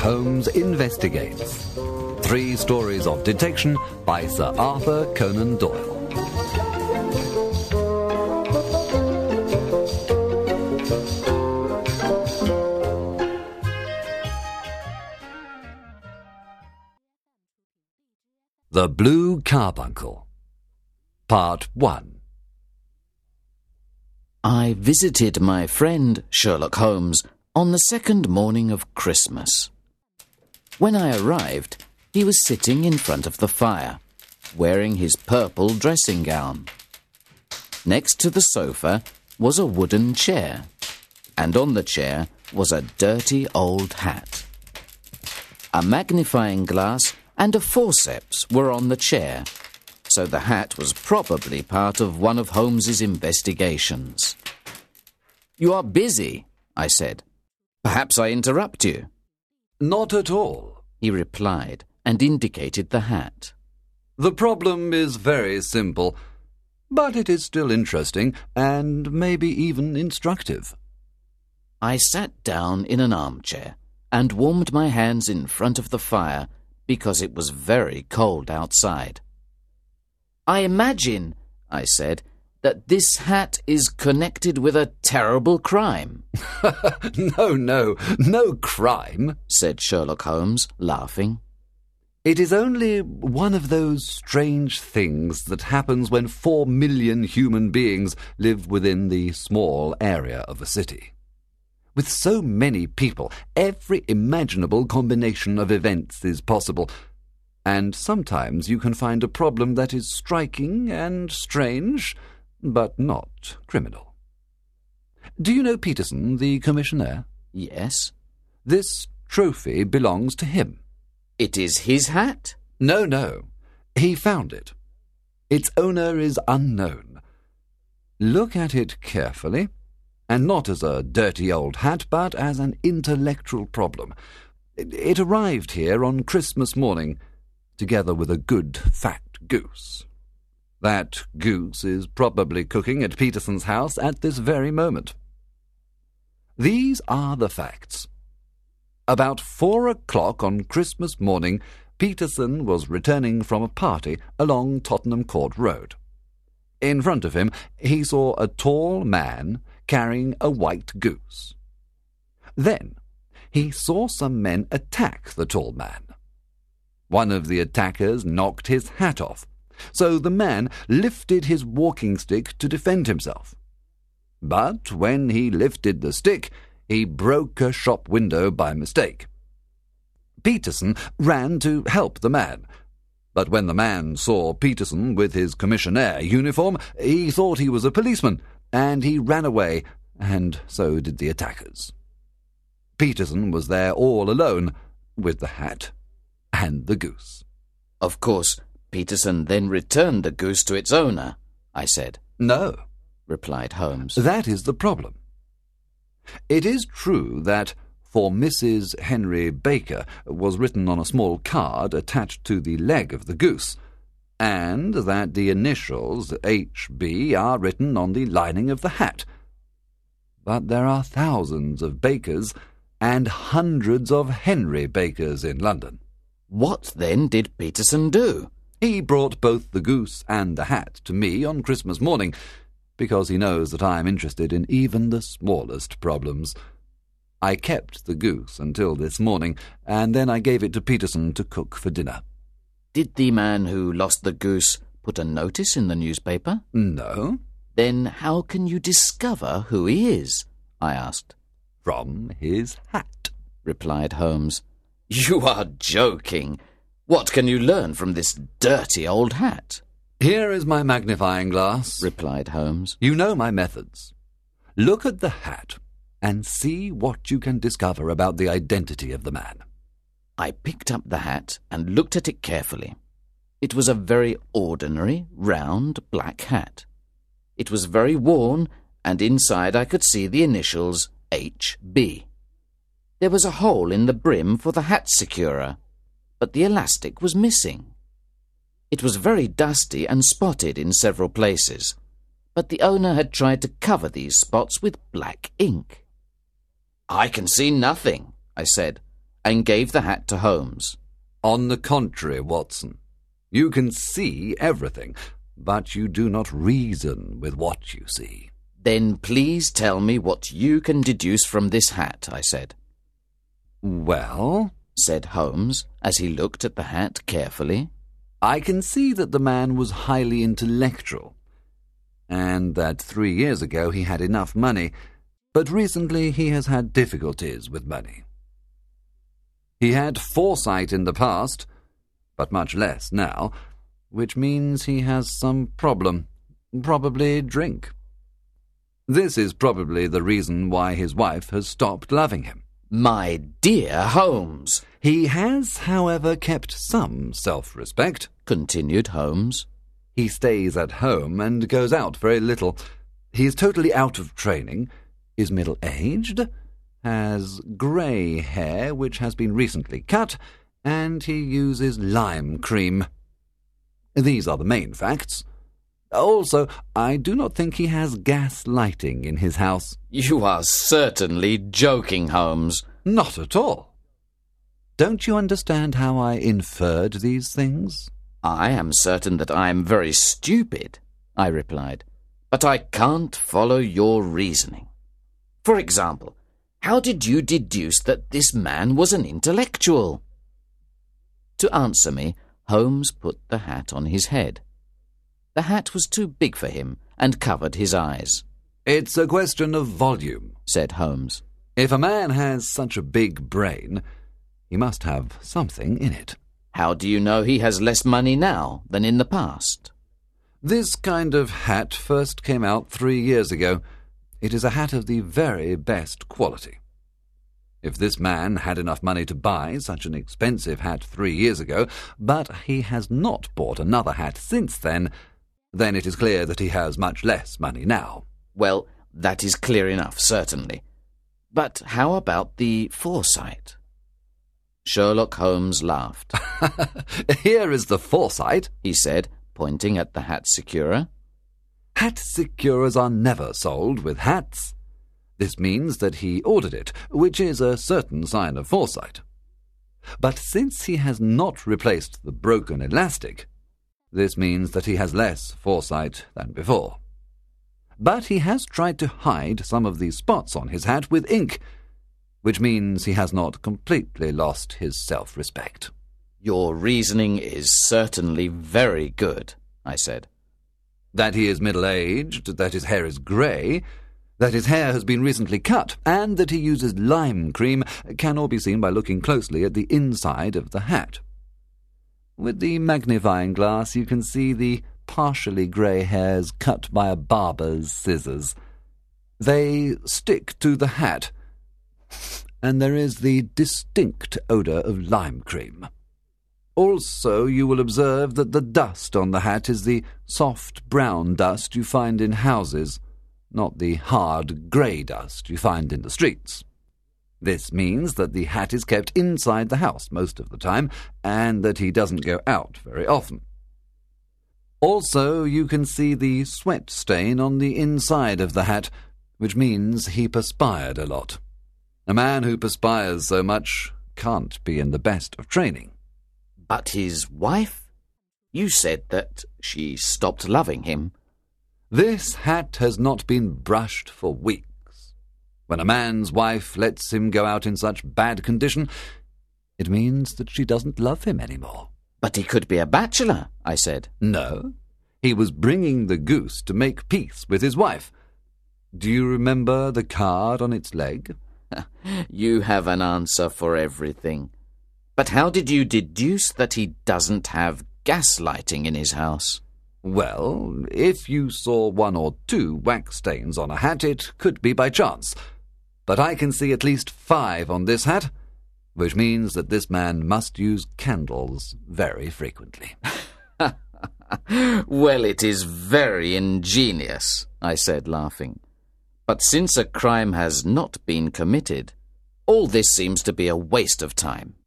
Holmes Investigates. 3 stories of detection by Sir Arthur Conan Doyle. The Blue Carbuncle. Part 1. I visited my friend Sherlock Holmes on the second morning of Christmas. When I arrived, he was sitting in front of the fire, wearing his purple dressing gown. Next to the sofa was a wooden chair, and on the chair was a dirty old hat. A magnifying glass and a forceps were on the chair, so the hat was probably part of one of Holmes's investigations. "You are busy," I said. "Perhaps I interrupt you." Not at all, he replied, and indicated the hat. The problem is very simple, but it is still interesting and maybe even instructive. I sat down in an armchair and warmed my hands in front of the fire because it was very cold outside. "I imagine," I said, "that this hat is connected with a terrible crime." No crime, said Sherlock Holmes, laughing. It is only one of those strange things that happens when 4 million human beings live within the small area of a city. With so many people, every imaginable combination of events is possible, and sometimes you can find a problem that is striking and strange, but not criminal. Do you know Peterson, the commissionaire? Yes. This trophy belongs to him. It is his hat? No. He found it. Its owner is unknown. Look at it carefully, and not as a dirty old hat, but as an intellectual problem. It arrived here on Christmas morning, together with a good fat goose. That goose is probably cooking at Peterson's house at this very moment. These are the facts. About 4 o'clock on Christmas morning, Peterson was returning from a party along Tottenham Court Road. In front of him, he saw a tall man carrying a white goose. Then he saw some men attack the tall man. One of the attackers knocked his hat off, so the man lifted his walking stick to defend himself. But when he lifted the stick, he broke a shop window by mistake. Peterson ran to help the man, but when the man saw Peterson with his commissionaire uniform, he thought he was a policeman, and he ran away, and so did the attackers. Peterson was there all alone, with the hat and the goose. Of course, Peterson then returned the goose to its owner, I said. No, replied Holmes. That is the problem. It is true that "For Mrs. Henry Baker" was written on a small card attached to the leg of the goose, and that the initials H.B. are written on the lining of the hat. But there are thousands of Bakers and hundreds of Henry Bakers in London. What then did Peterson do? He brought both the goose and the hat to me on Christmas morning, because he knows that I am interested in even the smallest problems. I kept the goose until this morning, and then I gave it to Peterson to cook for dinner. Did the man who lost the goose put a notice in the newspaper? No. Then how can you discover who he is? I asked. From his hat, replied Holmes. You are joking. What can you learn from this dirty old hat? Here is my magnifying glass, replied Holmes. You know my methods. Look at the hat and see what you can discover about the identity of the man. I picked up the hat and looked at it carefully. It was a very ordinary, round, black hat. It was very worn, and inside I could see the initials H.B. There was a hole in the brim for the hat securer, but the elastic was missing. It was very dusty and spotted in several places, but the owner had tried to cover these spots with black ink. I can see nothing, I said. and gave the hat to Holmes. On the contrary, Watson, you can see everything, but you do not reason with what you see. Then please tell me what you can deduce from this hat, I said. Well, said Holmes, as he looked at the hat carefully, I can see that the man was highly intellectual, and that 3 years ago he had enough money, but recently he has had difficulties with money. He had foresight in the past, but much less now, which means he has some problem, probably drink. This is probably the reason why his wife has stopped loving him. My dear Holmes! He has, however, kept some self-respect, continued Holmes. He stays at home and goes out very little. He is totally out of training, is middle-aged, has grey hair which has been recently cut, and he uses lime cream. These are the main facts. Also, I do not think he has gas lighting in his house. You are certainly joking, Holmes. Not at all. Don't you understand how I inferred these things? I am certain that I am very stupid, I replied, but I can't follow your reasoning. For example, how did you deduce that this man was an intellectual? To answer me, Holmes put the hat on his head. The hat was too big for him and covered his eyes. It's a question of volume, said Holmes. If a man has such a big brain, he must have something in it. How do you know he has less money now than in the past? This kind of hat first came out 3 years ago. It is a hat of the very best quality. If this man had enough money to buy such an expensive hat 3 years ago, but he has not bought another hat since then it is clear that he has much less money now. Well, that is clear enough, certainly. But how about the foresight? Sherlock Holmes laughed. Here is the foresight, he said, pointing at the hat securer. Hat securers are never sold with hats. This means that he ordered it, which is a certain sign of foresight. But since he has not replaced the broken elastic, this means that he has less foresight than before. But he has tried to hide some of these spots on his hat with ink, which means he has not completely lost his self-respect. Your reasoning is certainly very good, I said. That he is middle-aged, that his hair is grey, that his hair has been recently cut, and that he uses lime cream can all be seen by looking closely at the inside of the hat. With the magnifying glass you can see the partially grey hairs cut by a barber's scissors. They stick to the hat, and there is the distinct odour of lime cream. Also, you will observe that the dust on the hat is the soft brown dust you find in houses, not the hard grey dust you find in the streets. This means that the hat is kept inside the house most of the time, and that he doesn't go out very often. Also, you can see the sweat stain on the inside of the hat, which means he perspired a lot. A man who perspires so much can't be in the best of training. But his wife? You said that she stopped loving him. This hat has not been brushed for weeks. When a man's wife lets him go out in such bad condition, it means that she doesn't love him anymore. But he could be a bachelor, I said. No, he was bringing the goose to make peace with his wife. Do you remember the card on its leg? You have an answer for everything. But how did you deduce that he doesn't have gas lighting in his house? Well, if you saw 1 or 2 wax stains on a hat, it could be by chance. But I can see at least 5 on this hat, which means that this man must use candles very frequently. Well, it is very ingenious, I said, laughing. But since a crime has not been committed, all this seems to be a waste of time.